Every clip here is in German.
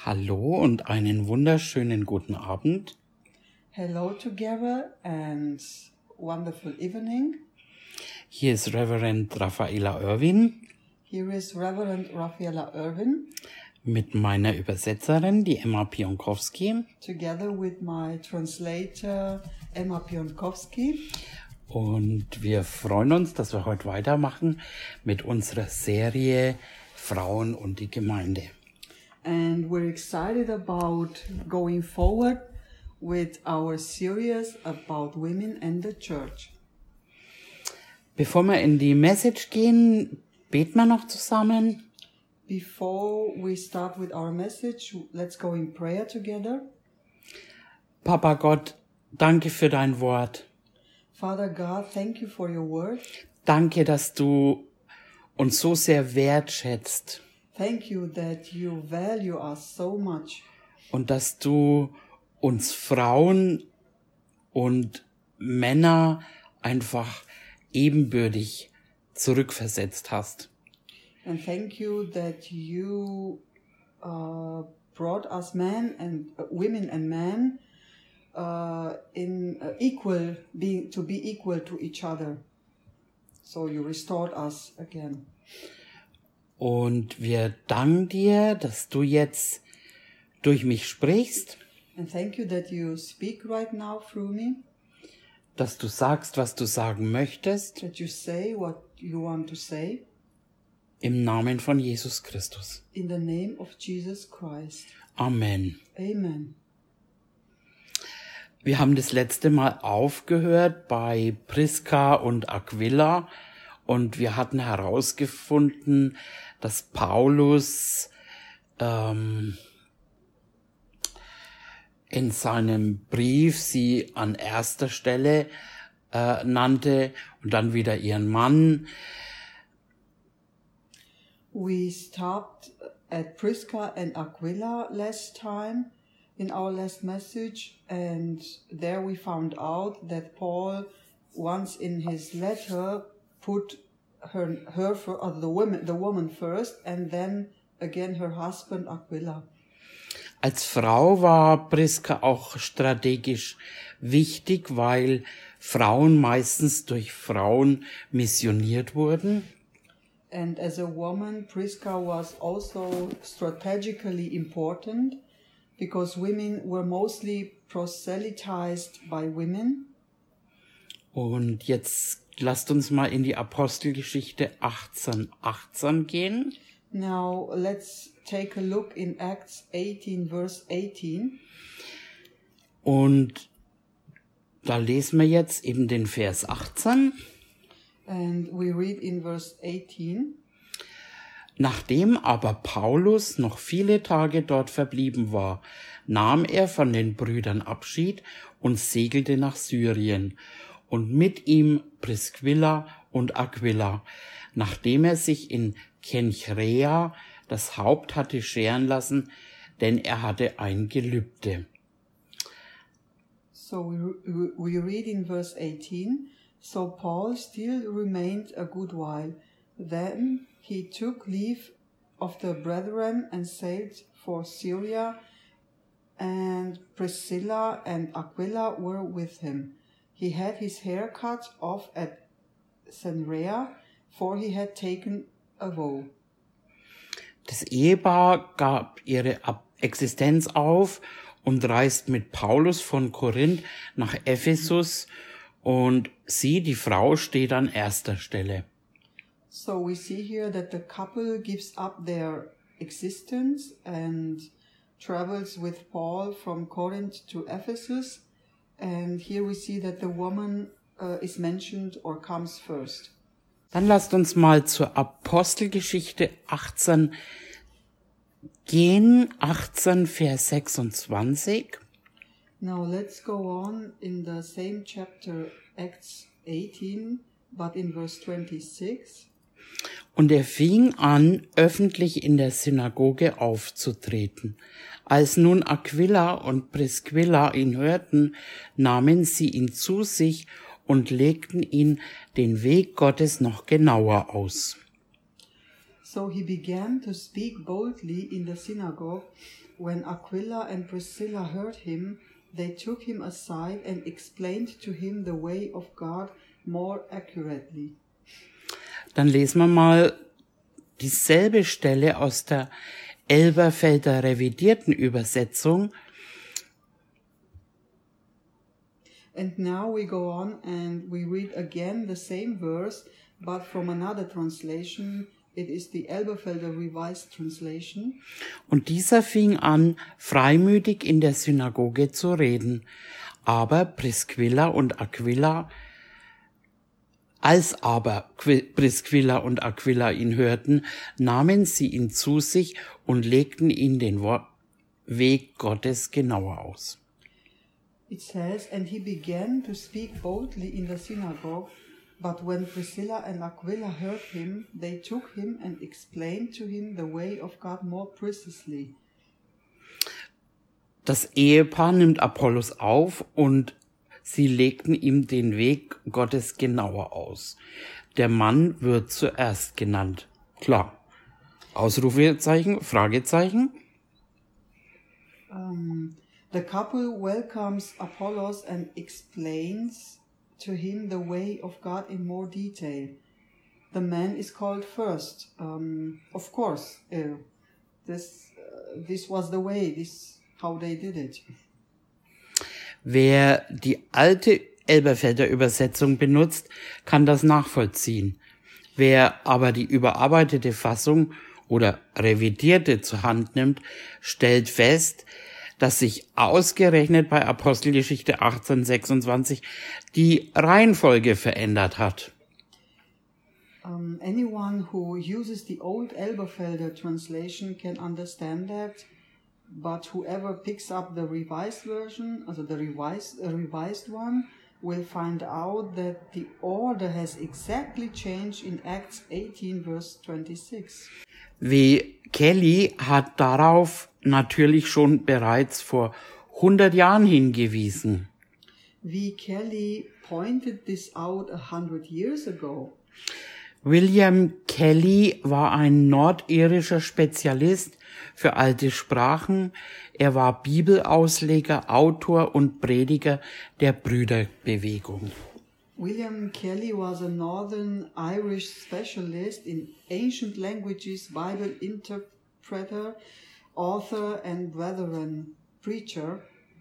Hallo und einen wunderschönen guten Abend. Hello together and wonderful evening. Hier ist Reverend Raffaella Irwin Here is Reverend Raffaella Irwin mit meiner Übersetzerin, die Emma Pionkowski. together with my translator Emma Pionkowski. Und wir freuen uns, dass wir heute weitermachen mit unserer Serie Frauen und die Gemeinde. And we're excited about going forward with our series about women and the church. Bevor wir in die Message gehen, beten wir noch zusammen. Before we start with our message, let's go in prayer together. Papa Gott, danke für dein Wort. Father God, thank you for your word. Danke, dass du uns so sehr wertschätzt Thank you that you value us so much. und dass du uns Frauen und Männer einfach ebenbürtig zurückversetzt hast. And thank you that you brought us men and women and men to be equal to each other. So you restored us again. Und wir danken dir, dass du jetzt durch mich sprichst, And thank you that you speak right now through me, dass du sagst, was du sagen möchtest, that you say what you want to say im Namen von Jesus Christus. in the name of Jesus Christ. Amen. Amen. Wir haben das letzte Mal aufgehört bei Priska und Aquila und wir hatten herausgefunden, dass Paulus in seinem Brief sie an erster Stelle nannte und dann wieder ihren Mann. We stopped at Prisca and Aquila last time in our last message, and there we found out that Paul once in his letter put the woman first, and then again her husband Aquila. Als Frau war Priska auch strategisch wichtig, weil Frauen meistens durch Frauen missioniert wurden. And as a woman, Prisca was also strategically important because women were mostly proselytized by women. Und jetzt lasst uns mal in die Apostelgeschichte 18:18 gehen. Now let's take a look in Acts 18, verse 18. Und da lesen wir jetzt eben den Vers 18. And we read in verse 18. Nachdem aber Paulus noch viele Tage dort verblieben war, nahm er von den Brüdern Abschied und segelte nach Syrien und mit ihm Priscilla und Aquila, nachdem er sich in Kenchrea das Haupt hatte scheren lassen, denn er hatte ein Gelübde. So we read in verse 18, so Paul still remained a good while. Then he took leave of the brethren and sailed for Syria, and Priscilla and Aquila were with him. He had his hair cut off at Cenchrea, for he had taken a vow. Das Ehepaar gab ihre Existenz auf und reist mit Paulus von Korinth nach Ephesus und sie, die Frau, steht an erster Stelle. So we see here that the couple gives up their existence and travels with Paul from Corinth to Ephesus. And here we see that the woman is mentioned or comes first. Dann lasst uns mal zur Apostelgeschichte 18 gehen, 18 Vers 26. Now let's go on in the same chapter, Acts 18, but in verse 26. Und er fing an, öffentlich in der Synagoge aufzutreten. Als nun Aquila und Priscilla ihn hörten, nahmen sie ihn zu sich und legten ihn den Weg Gottes noch genauer aus. So he began to speak boldly in the synagogue, when Aquila and Priscilla heard him, they took him aside and explained to him the way of God more accurately. Dann lesen wir mal dieselbe Stelle aus der Elberfelder revidierten Übersetzung. And now we go on and we read again the same verse, but from another translation. It is the Elberfelder Revised Translation. Und dieser fing an, freimütig in der Synagoge zu reden. Aber Priscilla und Aquila ihn hörten, nahmen sie ihn zu sich und legten ihn den Weg Gottes genauer aus. It says, and he began to speak boldly in the synagogue, but when Priscilla and Aquila heard him, they took him and explained to him the way of God more precisely. Das Ehepaar nimmt Apollos auf und sie legten ihm den Weg Gottes genauer aus. Der Mann wird zuerst genannt. Klar. Ausrufezeichen, Fragezeichen. The couple welcomes Apollos and explains to him the way of God in more detail. The man is called first. Of course, this was the way, this how they did it. Wer die alte Elberfelder Übersetzung benutzt, kann das nachvollziehen. Wer aber die überarbeitete Fassung oder revidierte zur Hand nimmt, stellt fest, dass sich ausgerechnet bei Apostelgeschichte 18:26 die Reihenfolge verändert hat. Anyone who uses the old Elberfelder translation can understand that, but whoever picks up the revised version, also the revised one, will find out that the order has exactly changed in Acts 18 verse 26. W. Kelly hat darauf natürlich schon bereits vor 100 Jahren hingewiesen. V. Kelly pointed this out 100 years ago. William Kelly war ein nordirischer Spezialist für alte Sprachen. Er war Bibelausleger, Autor und Prediger der Brüderbewegung. William Kelly was a Northern Irish specialist in ancient languages, Bible interpreter, author and Brethren preacher.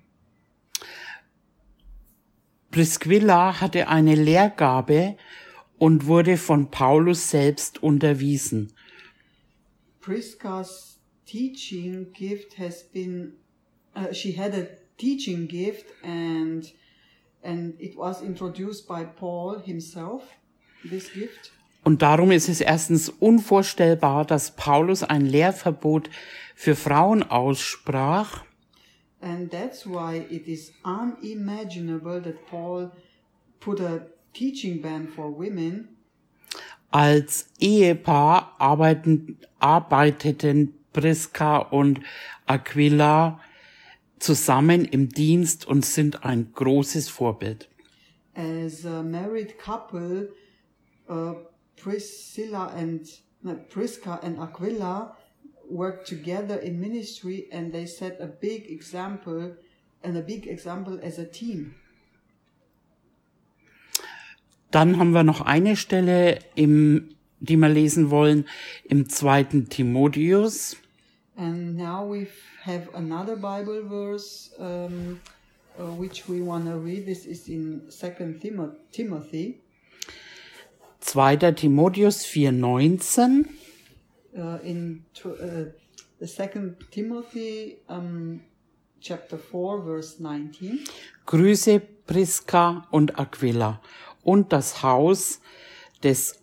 Priscilla hatte eine Lehrgabe und wurde von Paulus selbst unterwiesen. Prisca's teaching gift has been, she had a teaching gift and it was introduced by Paul himself, this gift. Und darum ist es erstens unvorstellbar, dass Paulus ein Lehrverbot für Frauen aussprach. And that's why it is unimaginable that Paul put a teaching ban for women. Als Ehepaar arbeiteten Prisca und Aquila zusammen im Dienst und sind ein großes Vorbild. As a married couple, Prisca and Aquila worked together in ministry and they set a big example as a team. Dann haben wir noch eine Stelle, die wir lesen wollen, im 2. Timotheus. And now we have another Bible verse which we want to read. This is in 2 Timothy. 2. Timotheus 4,19. In the 2 Timothy chapter 4 verse 19. Grüße Prisca und Aquila und das Haus des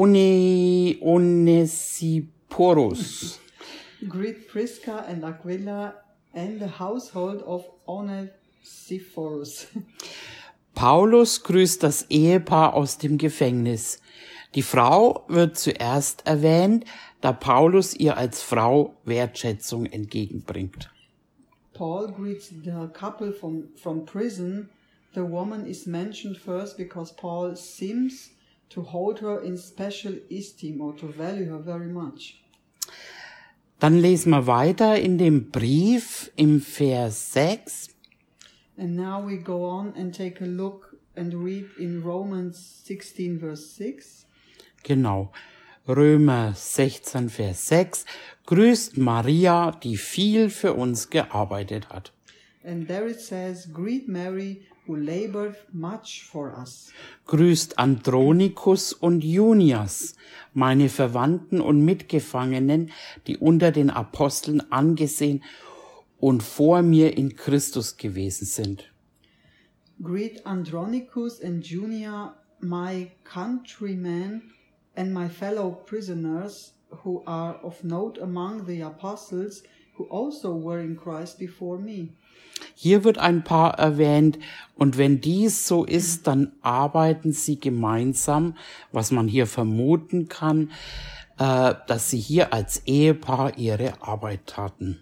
Onesiphorus. Greet Prisca and Aquila and the household of Onesiphorus. Paulus grüßt das Ehepaar aus dem Gefängnis. Die Frau wird zuerst erwähnt, da Paulus ihr als Frau Wertschätzung entgegenbringt. Paul greets the couple from prison. The woman is mentioned first because Paul seems to hold her in special esteem or to value her very much. Dann lesen wir weiter in dem Brief im Vers 6. And now we go on and take a look and read in Romans 16 verse 6. Genau. Römer 16, Vers 6. Grüßt Maria, die viel für uns gearbeitet hat. And there it says, greet Mary, who labored much for us. Grüßt Andronikus und Junias, meine Verwandten und Mitgefangenen, die unter den Aposteln angesehen und vor mir in Christus gewesen sind. Greet Andronicus and Junia, my countrymen and my fellow prisoners, who are of note among the apostles, who also were in Christ before me. Hier wird ein Paar erwähnt, und wenn dies so ist, dann arbeiten sie gemeinsam, was man hier vermuten kann, dass sie hier als Ehepaar ihre Arbeit taten.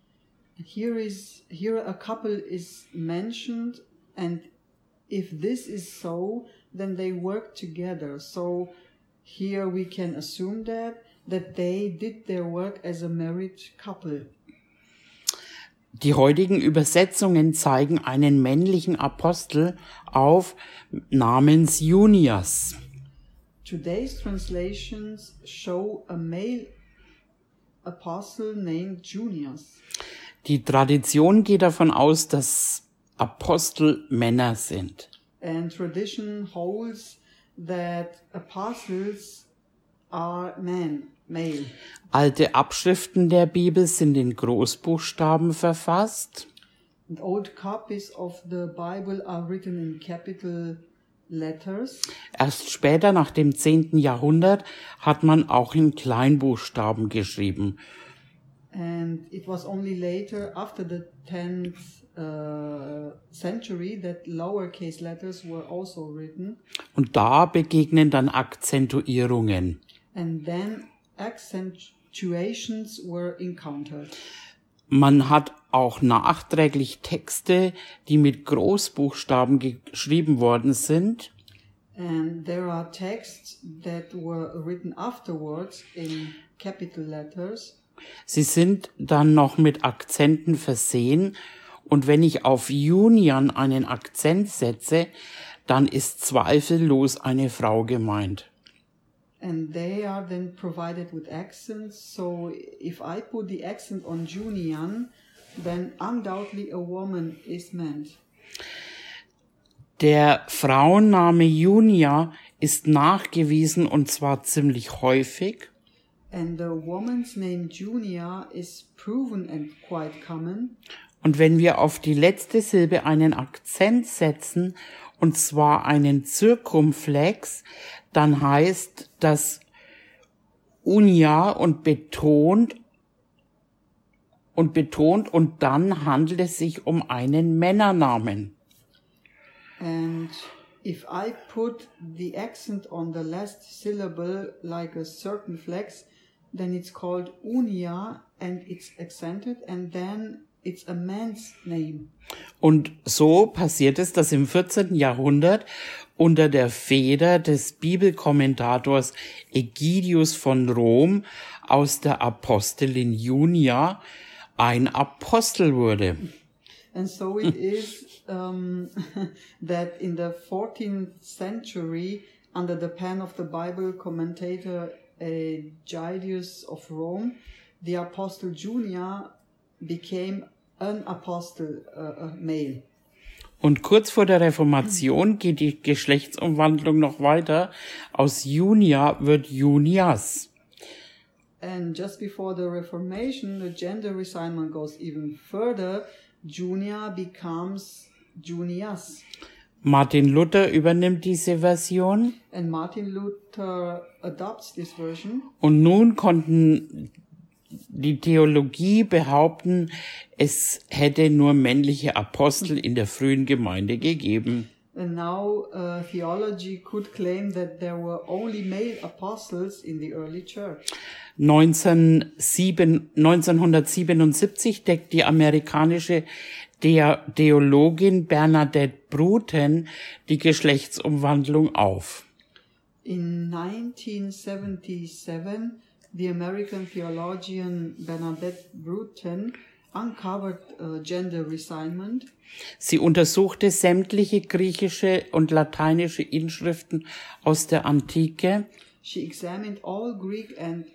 Here a couple is mentioned, and if this is so, then they work together. So here we can assume that they did their work as a married couple. Die heutigen Übersetzungen zeigen einen männlichen Apostel auf namens Junias. Today's translations show a male apostle named Junias. Die Tradition geht davon aus, dass Apostel Männer sind. And tradition holds that apostles are men, male. Alte Abschriften der Bibel sind in Großbuchstaben verfasst. And old copies of the Bible are written in capital letters. Erst später, nach dem 10. Jahrhundert, hat man auch in Kleinbuchstaben geschrieben. And it was only later, after the 10th century, that lowercase letters were also written. Und da begegnen dann Akzentuierungen. And then accentuations were encountered. Man hat auch nachträglich Texte, die mit Großbuchstaben geschrieben worden sind. And there are texts that were written afterwards in capital letters. Sie sind dann noch mit Akzenten versehen, und wenn ich auf Junian einen Akzent setze, dann ist zweifellos eine Frau gemeint. And they are then provided with accents, so if I put the accent on Junian, then undoubtedly a woman is meant. Der Frauenname Junia ist nachgewiesen, und zwar ziemlich häufig. And the woman's name Junia is proven and quite common. Und wenn wir auf die letzte Silbe einen Akzent setzen, und zwar einen Zirkumflex, dann heißt das Unia und betont, und dann handelt es sich um einen Männernamen. And if I put the accent on the last syllable like a circumflex, then it's called unia and it's accented, and then it's a man's name. Und so passiert es, dass im 14. Jahrhundert unter der Feder des Bibelkommentators Ägidius von Rom aus der Apostelin Junia ein Apostel wurde. And so it is that in the 14th century, under the pen of the Bible commentator Aegidius of Rome, the apostle Junia became an apostle, a male. Und kurz vor der Reformation geht die Geschlechtsumwandlung noch weiter. Aus Junia wird Junias. And just before the Reformation, the gender reassignment goes even further. Junia becomes Junias. Martin Luther übernimmt diese Version. And Martin Luther adopts this version. Und nun konnten die Theologie behaupten, es hätte nur männliche Apostel in der frühen Gemeinde gegeben. And now theology could claim that there were only male apostles in the early church. 1977 deckt die amerikanische Theologin Bernadette Bruten die Geschlechtsumwandlung auf. In 1977, the American theologian Bernadette Bruton uncovered gender resignment. Sie untersuchte sämtliche griechische und lateinische Inschriften aus der Antike. She examined all Greek and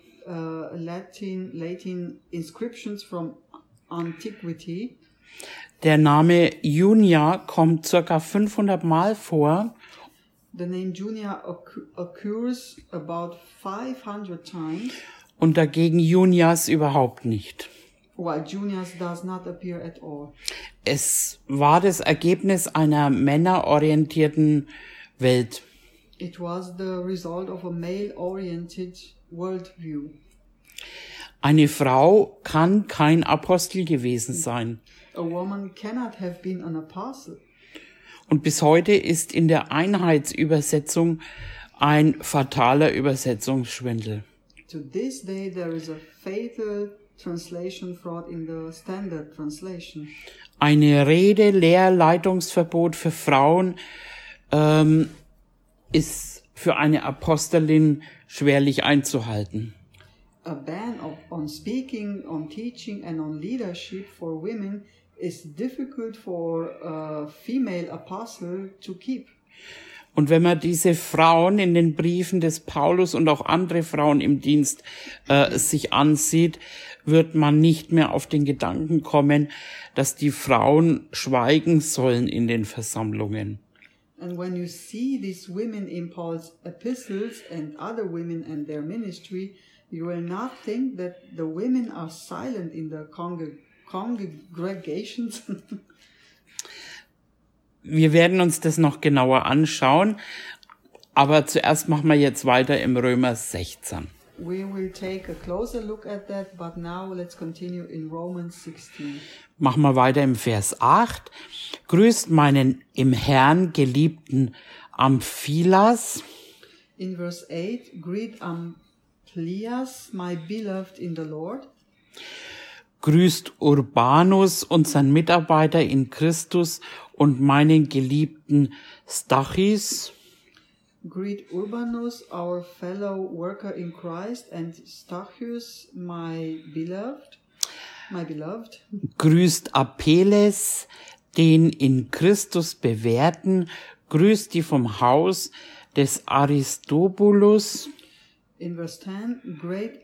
Latin inscriptions from antiquity. Der Name Junia kommt ca. 500 Mal vor. The name Junia occurs about 500 times. Und dagegen Junias überhaupt nicht. While Junias does not appear at all. Es war das Ergebnis einer männerorientierten Welt. It was the result of a male-oriented worldview. Eine Frau kann kein Apostel gewesen sein. A woman cannot have been an apostle. Und bis heute ist in der Einheitsübersetzung ein fataler Übersetzungsschwindel. To this day there is a fatal translation fraud in the standard translation. Eine Rede, Lehrleitungsverbot für Frauen ist für eine Apostelin schwerlich einzuhalten. A ban on speaking, on teaching and on leadership for women is difficult for a female apostle to keep. Und wenn man diese Frauen in den Briefen des Paulus und auch andere Frauen im Dienst sich ansieht, wird man nicht mehr auf den Gedanken kommen, dass die Frauen schweigen sollen in den Versammlungen. And when you see these women in Paul's epistles and other women and their ministry, you will not think that the women are silent in the congregations. Wir werden uns das noch genauer anschauen, aber zuerst machen wir jetzt weiter im Römer 16. We will take a closer look at that, but now let's continue in Romans 16. Machen wir weiter im Vers 8. Grüßt meinen im Herrn geliebten Amphilas. In verse 8, greet Amplias, my beloved in the Lord. Grüßt Urbanus, unseren Mitarbeiter in Christus, und meinen geliebten Stachys. Greet Urbanus, our fellow worker in Christ, and Stachys, my beloved. Grüßt Apelles, den in Christus Bewährten. Grüßt die vom Haus des Aristobulus. In verse 10, great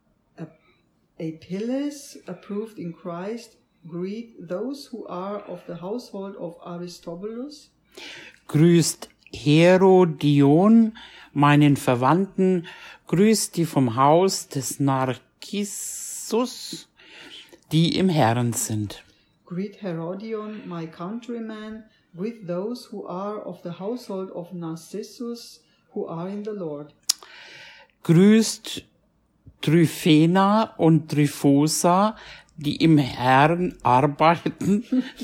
Apelles, approved in Christ, greet those who are of the household of Aristobulus. Grüßt Herodion, meinen Verwandten. Grüßt die vom Haus des Narcissus, die im Herrn sind. Greet Herodion, my countryman. Greet those who are of the household of Narcissus, who are in the Lord. Grüßt Tryphena und Tryphosa, die im Herrn arbeiten.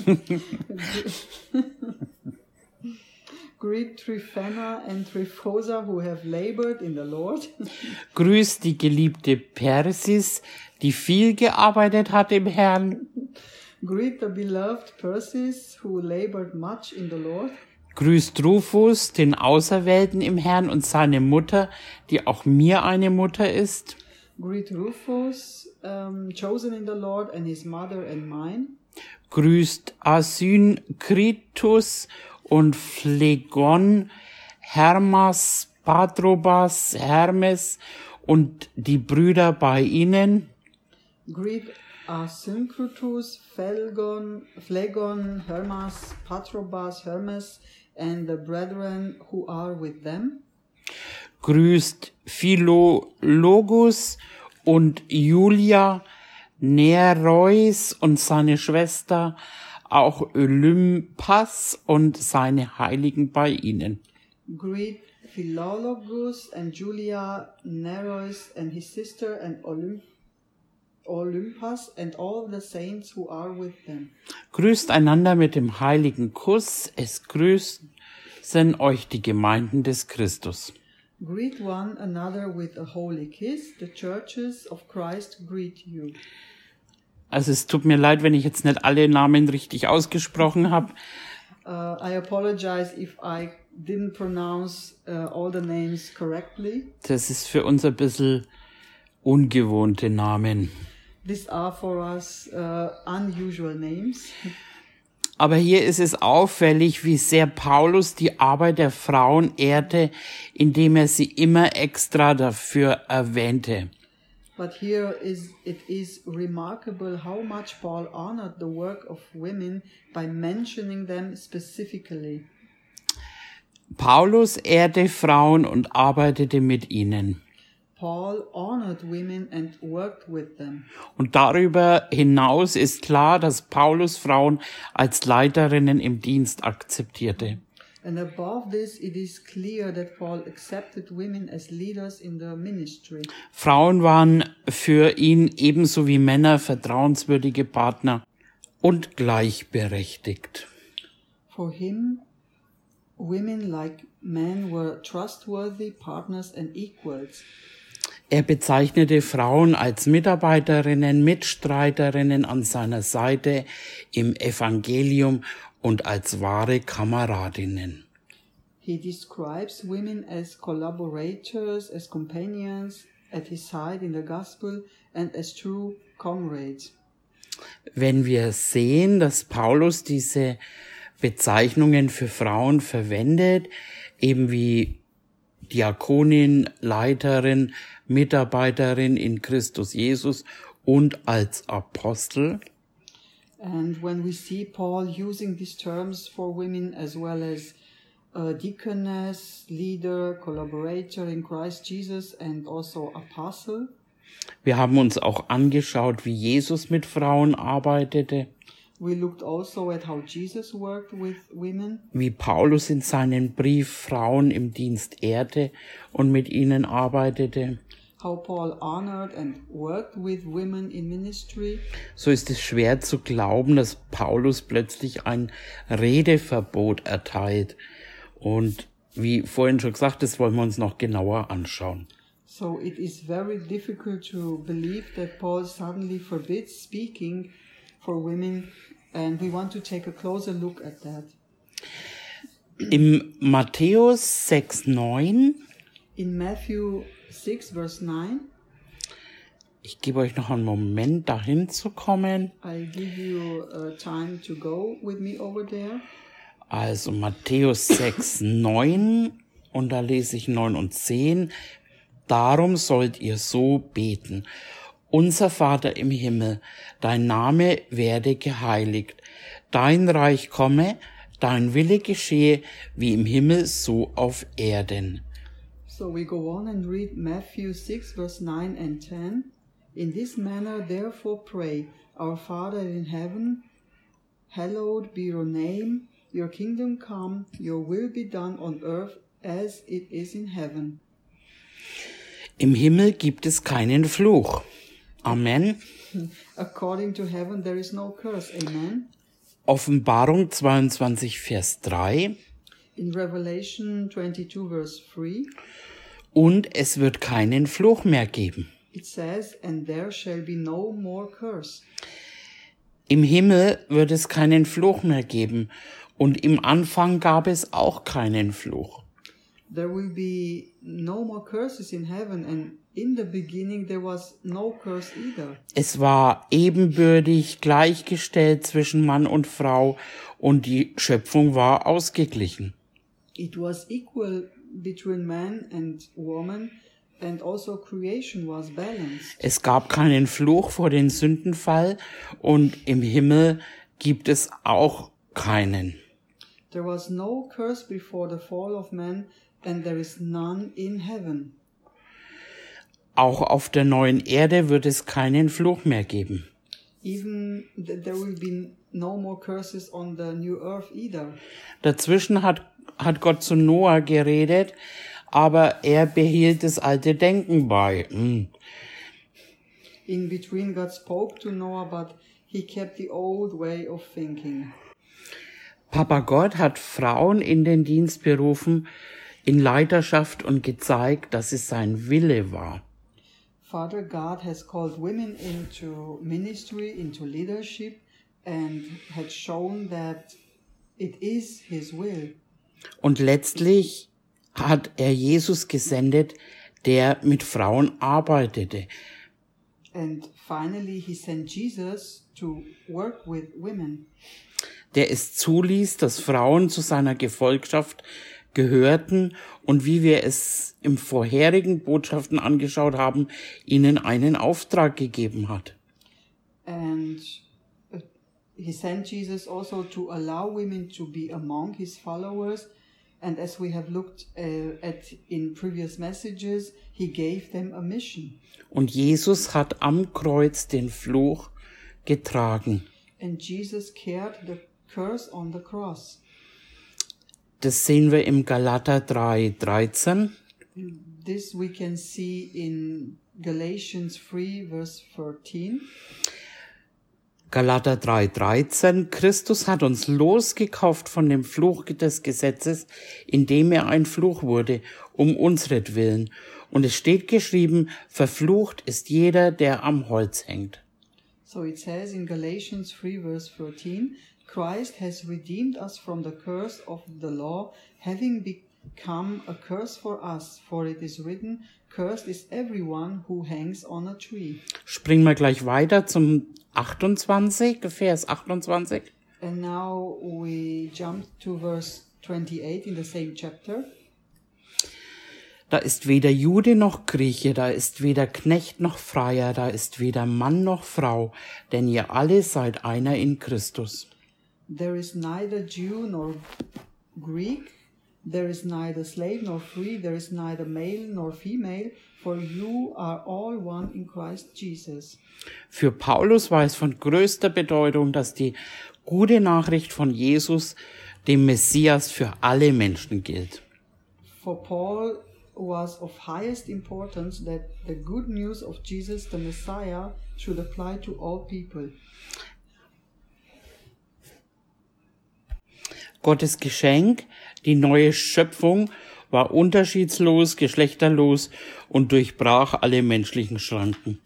Greet Tryphena and Tryphosa, who have labored in the Lord. Grüßt die geliebte Persis, die viel gearbeitet hat im Herrn. Greet the beloved Persis, who labored much in the Lord. Grüßt Rufus, den Auserwählten im Herrn, und seine Mutter, die auch mir eine Mutter ist. Greet Rufus, chosen in the Lord, and his mother and mine. Grüßt Asynkritus und Phlegon, Hermas, Patrobas, Hermes und die Brüder bei ihnen. Greet Asynkritus, Phlegon, Hermas, Patrobas, Hermes, and the brethren who are with them. Grüßt Philologus und Julia, Nereus und seine Schwester, auch Olympas und seine Heiligen bei ihnen. Greet Philologus and Julia, Nereus and his sister, and Olympas and all the saints who are with them. Grüßt einander mit dem heiligen Kuss, es grüßen euch die Gemeinden des Christus. Greet one another with a holy kiss. The churches of Christ greet you. Also es tut mir leid, wenn ich jetzt nicht alle Namen richtig ausgesprochen habe. I apologize if I didn't pronounce all the names correctly. Das ist für uns ein bisschen ungewohnte Namen. These are for us unusual names. Aber hier ist es auffällig, wie sehr Paulus die Arbeit der Frauen ehrte, indem er sie immer extra dafür erwähnte. But here it is remarkable how much Paul honored the work of women by mentioning them specifically. Paulus ehrte Frauen und arbeitete mit ihnen. Paul honored women and worked with them. Und darüber hinaus ist klar, dass Paulus Frauen als Leiterinnen im Dienst akzeptierte. And above this, it is clear that Paul accepted women as leaders in the ministry. Frauen waren für ihn ebenso wie Männer vertrauenswürdige Partner und gleichberechtigt. For him, women like men were trustworthy partners and equals. Er bezeichnete Frauen als Mitarbeiterinnen, Mitstreiterinnen an seiner Seite im Evangelium und als wahre Kameradinnen. He describes women as collaborators, as companions at his side in the gospel and as true comrades. Wenn wir sehen, dass Paulus diese Bezeichnungen für Frauen verwendet, eben wie Diakonin, Leiterin, Mitarbeiterin in Christus Jesus und als Apostel. And when we see Paul using these terms for women as well as deaconess, leader, collaborator in Christ Jesus and also apostle. Wir haben uns auch angeschaut, wie Jesus mit Frauen arbeitete. We looked also at how Jesus worked with women. Wie Paulus in seinem Brief Frauen im Dienst ehrte und mit ihnen arbeitete. How Paul honored and worked with women in ministry. So ist es schwer zu glauben, dass Paulus plötzlich ein Redeverbot erteilt. Und wie vorhin schon gesagt, das wollen wir uns noch genauer anschauen. So it is very difficult to believe that Paul suddenly forbids speaking for women, and we want to take a closer look at that. Im Matthäus 6,9 In Matthew 6, verse 9, ich gebe euch noch einen Moment, dahin zu kommen. I'll give you time to go with me over there. Also Matthäus 6,9 und da lese ich 9 und 10. Darum sollt ihr so beten. Unser Vater im Himmel, dein Name werde geheiligt. Dein Reich komme, dein Wille geschehe, wie im Himmel, so auf Erden. So we go on and read Matthew 6, verse 9 and 10. In this manner therefore pray, Our Father in heaven, hallowed be your name, your kingdom come, your will be done on earth as it is in heaven. Im Himmel gibt es keinen Fluch. Amen. According to heaven there is no curse. Amen. Offenbarung 22, Vers 3. In Revelation 22, verse 3, Und es wird keinen Fluch mehr geben. it says, And there shall be no more curse. Im Himmel wird es keinen Fluch mehr geben. Und im Anfang gab es auch keinen Fluch. There will be no more curses in heaven, and in the beginning there was no curse either. Es war ebenbürtig gleichgestellt zwischen Mann und Frau und die Schöpfung war ausgeglichen. It was equal between man and woman, and also creation was balanced. Es gab keinen Fluch vor dem Sündenfall und im Himmel gibt es auch keinen. There was no curse before the fall of man, and there is none in heaven. Auch auf der neuen Erde wird es keinen Fluch mehr geben. Even there will be no more curses on the new earth either. Dazwischen hat Gott zu Noah geredet, aber er behielt das alte Denken bei. In between God spoke to Noah, but he kept the old way of thinking. Papa Gott hat Frauen in den Dienst berufen, in Leiterschaft und gezeigt, dass es sein Wille war. Father God has called women into ministry, into leadership, and had shown that it is his will. Und letztlich hat er Jesus gesendet, der mit Frauen arbeitete. And finally he sent Jesus to work with women. Der es zuließ, dass Frauen zu seiner Gefolgschaft gehörten und wie wir es im vorherigen Botschaften angeschaut haben, ihnen einen Auftrag gegeben hat. And he sent Jesus also to allow women to be among his followers. And as we have looked at in previous messages, he gave them a mission. Und Jesus hat am Kreuz den Fluch getragen. And Jesus carried the curse on the cross. Das sehen wir im Galater 3,13. This we can see in Galatians 3, verse 13. Galater 3,13. Christus hat uns losgekauft von dem Fluch des Gesetzes, indem er ein Fluch wurde, um unsretwillen. Und es steht geschrieben, verflucht ist jeder, der am Holz hängt. So it says in Galatians 3, verse 13, Christ has redeemed us from the curse of the law, having become a curse for us, for it is written, cursed is everyone who hangs on a tree. Springen wir gleich weiter zum 28, Vers 28. And now we jump to verse 28 in the same chapter. Da ist weder Jude noch Grieche, da ist weder Knecht noch Freier, da ist weder Mann noch Frau, denn ihr alle seid einer in Christus. There is neither Jew nor Greek, there is neither slave nor free, there is neither male nor female, for you are all one in Christ Jesus. Für Paulus war es von größter Bedeutung, dass die gute Nachricht von Jesus, dem Messias, für alle Menschen gilt. For Paul was of highest importance that the good news of Jesus the Messiah should apply to all people. Gottes Geschenk, die neue Schöpfung, war unterschiedslos, geschlechterlos und durchbrach alle menschlichen Schranken.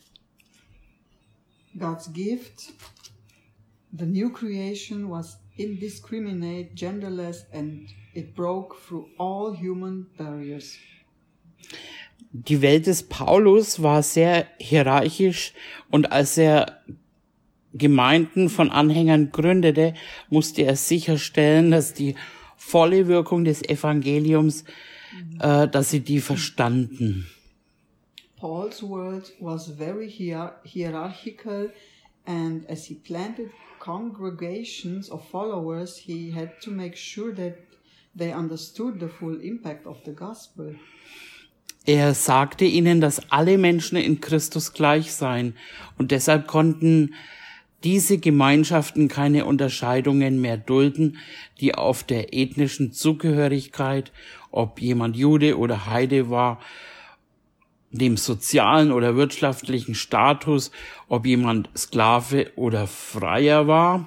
God's gift, the new creation, was indiscriminate, genderless, and it broke through all human barriers. Die Welt des Paulus war sehr hierarchisch und als er Gemeinden von Anhängern gründete, musste er sicherstellen, dass die volle Wirkung des Evangeliums, dass sie die verstanden. Paul's world was very hierarchical, and as he planted congregations of followers, he had to make sure that they understood the full impact of the gospel. Er sagte ihnen, dass alle Menschen in Christus gleich seien und deshalb konnten diese Gemeinschaften keine Unterscheidungen mehr dulden, die auf der ethnischen Zugehörigkeit, ob jemand Jude oder Heide war, dem sozialen oder wirtschaftlichen Status, ob jemand Sklave oder Freier war.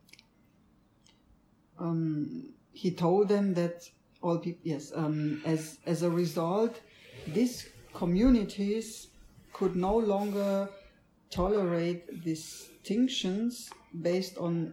He told them that all people, as a result, these communities could no longer tolerate distinctions based on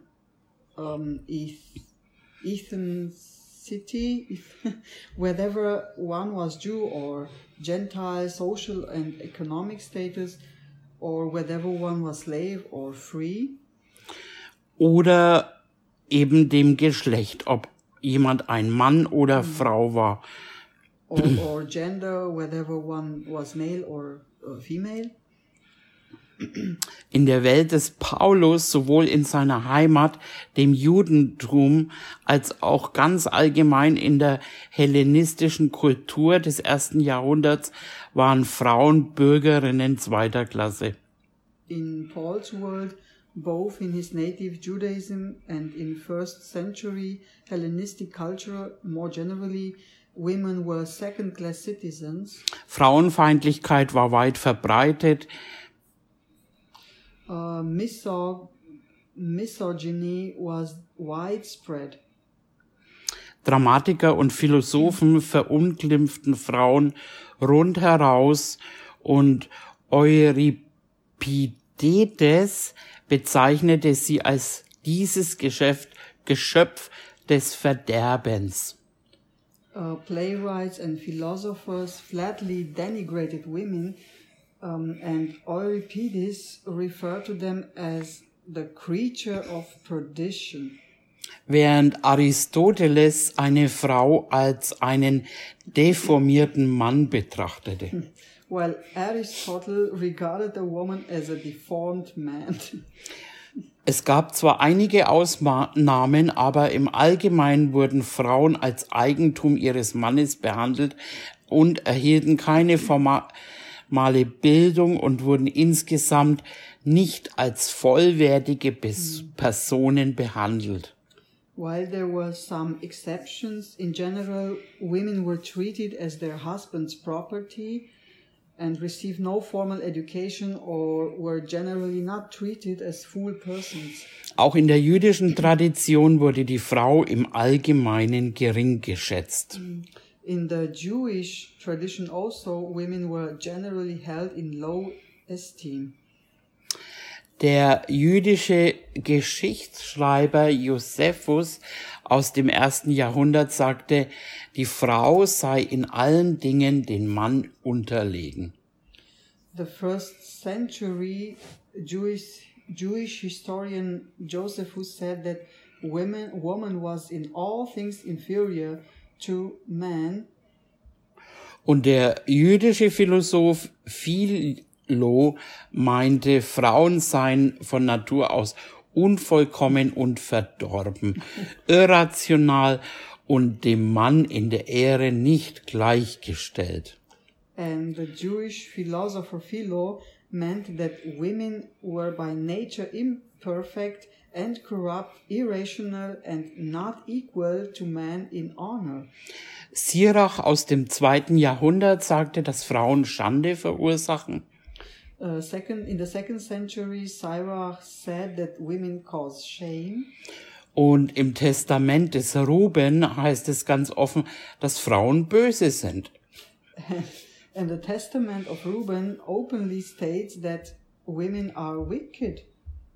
ethnicity, whether one was Jew or Gentile, social and economic status, or whether one was slave or free. Oder eben dem Geschlecht, ob jemand ein Mann oder Frau war. Or gender, whether one was male or female. In der Welt des Paulus, sowohl in seiner Heimat, dem Judentum, als auch ganz allgemein in der hellenistischen Kultur des 1. Jahrhunderts, waren Frauen Bürgerinnen zweiter Klasse. In Paul's world, both in his native Judaism and in first century Hellenistic culture more generally, women were second-class citizens. Frauenfeindlichkeit war weit verbreitet. Misogyny was widespread. Dramatiker und Philosophen verunglimpften Frauen rundheraus und Euripides bezeichnete sie als dieses Geschöpf des Verderbens. Playwrights and philosophers flatly denigrated women, And Euripides referred to them as the creature of perdition. Während Aristoteles eine Frau als einen deformierten Mann betrachtete. While Aristotle regarded a woman as a deformed man. Es gab zwar einige Ausnahmen, aber im Allgemeinen wurden Frauen als Eigentum ihres Mannes behandelt und erhielten keine formale Bildung und wurden insgesamt nicht als vollwertige Personen behandelt. While there were some exceptions, in general, women were treated as their husband's property and received no formal education or were generally not treated as full persons. Auch in der jüdischen Tradition wurde die Frau im Allgemeinen gering geschätzt. In the Jewish tradition also, women were generally held in low esteem. Der jüdische Geschichtsschreiber Josephus aus dem 1. Jahrhundert sagte, die Frau sei in allen Dingen den Mann unterlegen. The first century Jewish historian Josephus said that woman was in all things inferior to man. Und der jüdische Philosoph Philo meinte, Frauen seien von Natur aus unvollkommen und verdorben, irrational und dem Mann in der Ehre nicht gleichgestellt. And the Jewish philosopher Philo meant that women were by nature imperfect and corrupt, irrational and not equal to man in honor. Sirach aus dem 2. Jahrhundert sagte, dass Frauen Schande verursachen. In the 2nd century, Sirach said that women cause shame. Und im Testament des Ruben heißt es ganz offen, dass Frauen böse sind. And the Testament of Reuben openly states that women are wicked.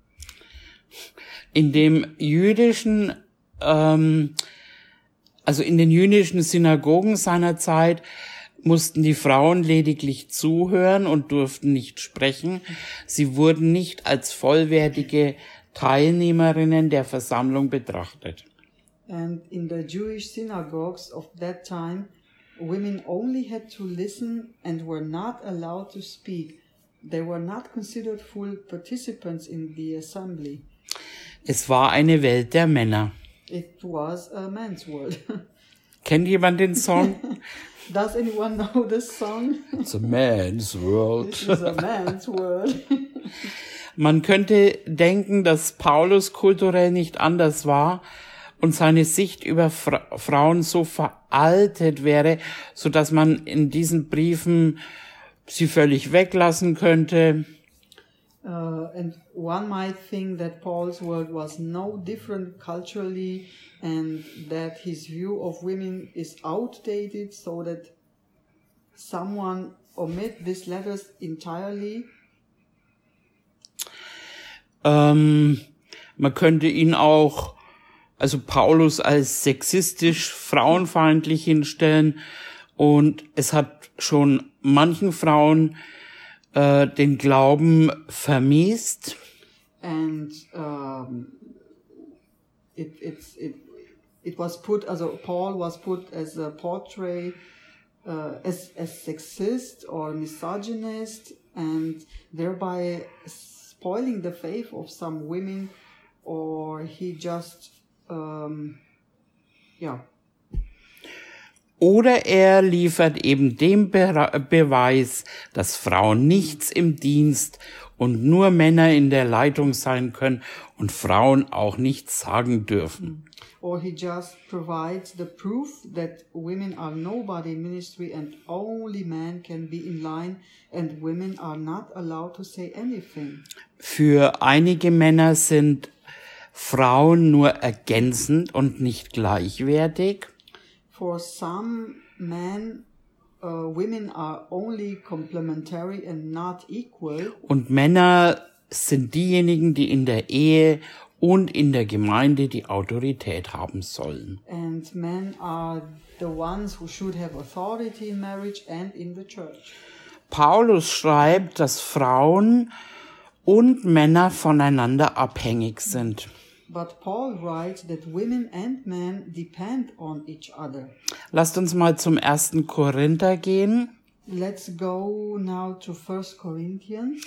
In dem jüdischen, in den jüdischen Synagogen seiner Zeit mussten die Frauen lediglich zuhören und durften nicht sprechen. Sie wurden nicht als vollwertige Teilnehmerinnen der Versammlung betrachtet. And in the Jewish synagogues of that time, women only had to listen and were not allowed to speak. They were not considered full participants in the assembly. Es war eine Welt der Männer. It was a man's world. Kennt jemand den Song? Does anyone know this song? It's a man's world. This is a man's world. Man könnte denken, dass Paulus kulturell nicht anders war und seine Sicht über Frauen so veraltet wäre, so dass man in diesen Briefen sie völlig weglassen könnte. And one might think that Paul's world was no different culturally and that his view of women is outdated, so that someone omit these letters entirely. Man könnte ihn auch, also Paulus als sexistisch, frauenfeindlich hinstellen, und es hat schon manchen Frauen den Glauben vermiest. And it was put, also Paul was put as a portrait as sexist or misogynist, and thereby spoiling the faith of some women, or he just Oder er liefert eben den Beweis, dass Frauen nichts im Dienst und nur Männer in der Leitung sein können und Frauen auch nichts sagen dürfen. Or he just provides the proof that women are nobody in ministry and only men can be in line and women are not allowed to say anything. Für einige Männer sind Frauen nur ergänzend und nicht gleichwertig. For some men, women are only complementary and not equal. Und Männer sind diejenigen, die in der Ehe und in der Gemeinde die Autorität haben sollen. And men are the ones who should have authority in marriage and in the church. Paulus schreibt, dass Frauen und Männer voneinander abhängig sind. But Paul writes that women and men depend on each other. Lasst uns mal zum 1. Korinther gehen. Let's go now to 1 Corinthians.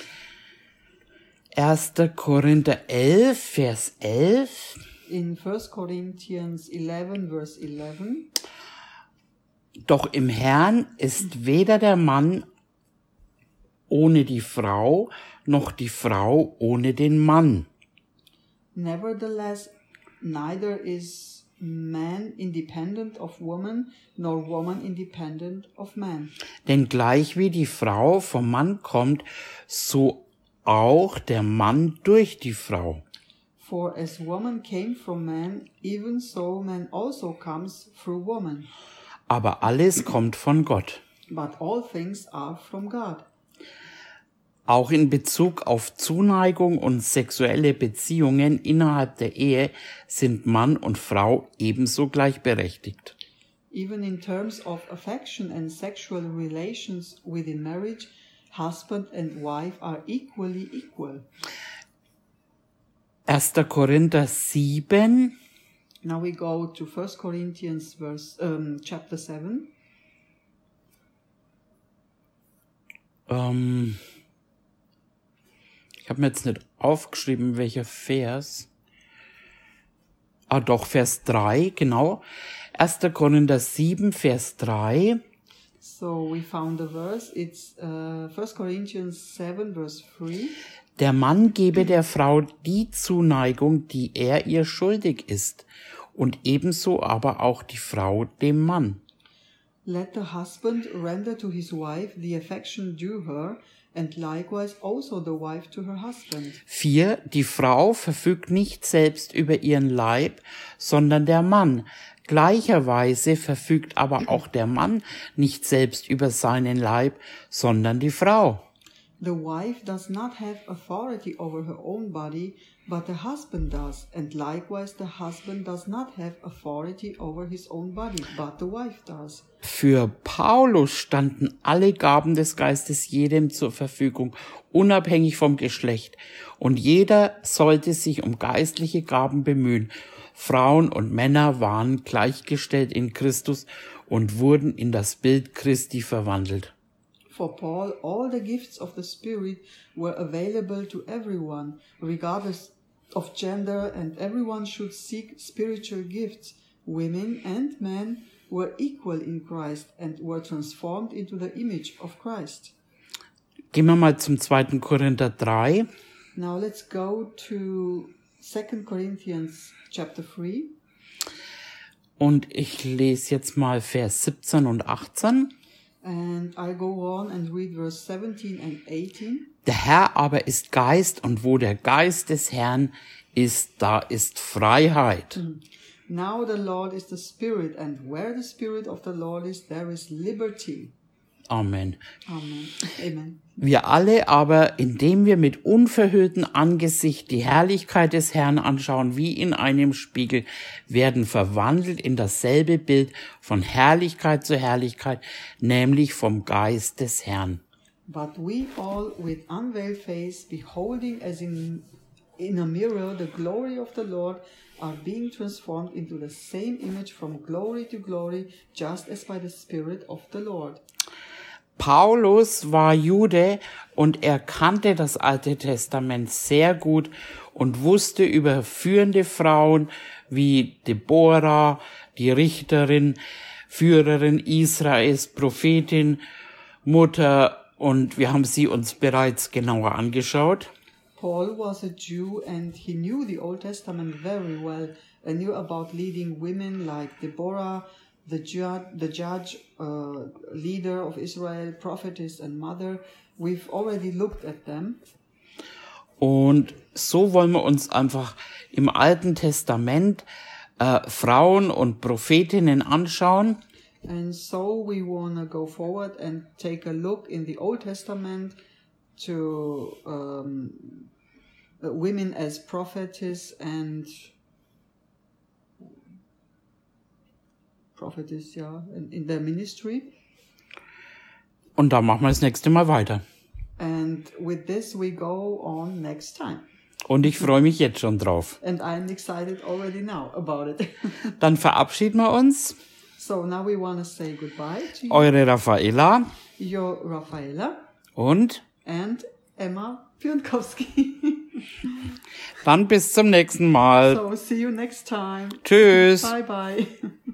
1. Korinther 11, Vers 11. In 1 Corinthians 11, verse 11. Doch im Herrn ist weder der Mann ohne die Frau, noch die Frau ohne den Mann. Nevertheless, neither is man independent of woman, nor woman independent of man. Denn gleich wie die Frau vom Mann kommt, so auch der Mann durch die Frau. For as woman came from man, even so man also comes through woman. Aber alles kommt von Gott. But all things are from God. Auch in Bezug auf Zuneigung und sexuelle Beziehungen innerhalb der Ehe sind Mann und Frau ebenso gleichberechtigt. Even in terms of affection and sexual relations within marriage, husband and wife are equally equal. 1. Korinther 7, Now we go to 1 Corinthians chapter 7. Ich habe mir jetzt nicht aufgeschrieben, welcher Vers. Doch, Vers 3, genau. 1. Korinther 7, Vers 3. So we found the verse. It's 1 Corinthians 7, verse 3. Der Mann gebe der Frau die Zuneigung, die er ihr schuldig ist, und ebenso aber auch die Frau dem Mann. Let the husband render to his wife the affection due her, and likewise also the wife to her husband. 4. Die Frau verfügt nicht selbst über ihren Leib, sondern der Mann. Gleicherweise verfügt aber auch der Mann nicht selbst über seinen Leib, sondern die Frau. The wife does not have authority over her own body, but the husband does, and likewise the husband does not have authority over his own body, but the wife does. Für Paulus standen alle Gaben des Geistes jedem zur Verfügung, unabhängig vom Geschlecht, und jeder sollte sich um geistliche Gaben bemühen. Frauen und Männer waren gleichgestellt in Christus und wurden in das Bild Christi verwandelt. For Paul, all the gifts of the Spirit were available to everyone, regardless of gender, and everyone should seek spiritual gifts. Women and men were equal in Christ and were transformed into the image of Christ. Gehen wir mal zum 2. Korinther 3. Now let's go to 2 Corinthians chapter 3. Und ich lese jetzt mal Vers 17 und 18. And I go on and read verse 17 and 18. Der Herr aber ist Geist, und wo der Geist des Herrn ist, da ist Freiheit. Now the Lord is the Spirit, and where the Spirit of the Lord is, there is liberty. Amen. Amen. Amen. Wir alle aber, indem wir mit unverhülltem Angesicht die Herrlichkeit des Herrn anschauen, wie in einem Spiegel, werden verwandelt in dasselbe Bild von Herrlichkeit zu Herrlichkeit, nämlich vom Geist des Herrn. But we all, with unveiled face, beholding as in a mirror the glory of the Lord, are being transformed into the same image from glory to glory, just as by the Spirit of the Lord. Paulus war Jude und er kannte das Alte Testament sehr gut und wusste über führende Frauen wie Deborah, die Richterin, Führerin Israels, Prophetin, Mutter, und wir haben sie uns bereits genauer angeschaut. Paul was a Jew and he knew the Old Testament very well and knew about leading women like Deborah, the judge, leader of Israel, prophetess and mother. We've already looked at them. Und so wollen wir uns einfach im Alten Testament Frauen und Prophetinnen anschauen. And so we want to go forward and take a look in the Old Testament to women as prophetess and in their ministry. Und da machen wir das nächste Mal weiter. And with this we go on next time. Und ich freue mich jetzt schon drauf. And I'm excited already now about it. Dann verabschieden wir uns. So now we want to say goodbye to you. Eure Raffaella Your Raffaella und and Emma Pionkowski. dann bis zum nächsten Mal. So see you next time. Tschüss. Bye bye.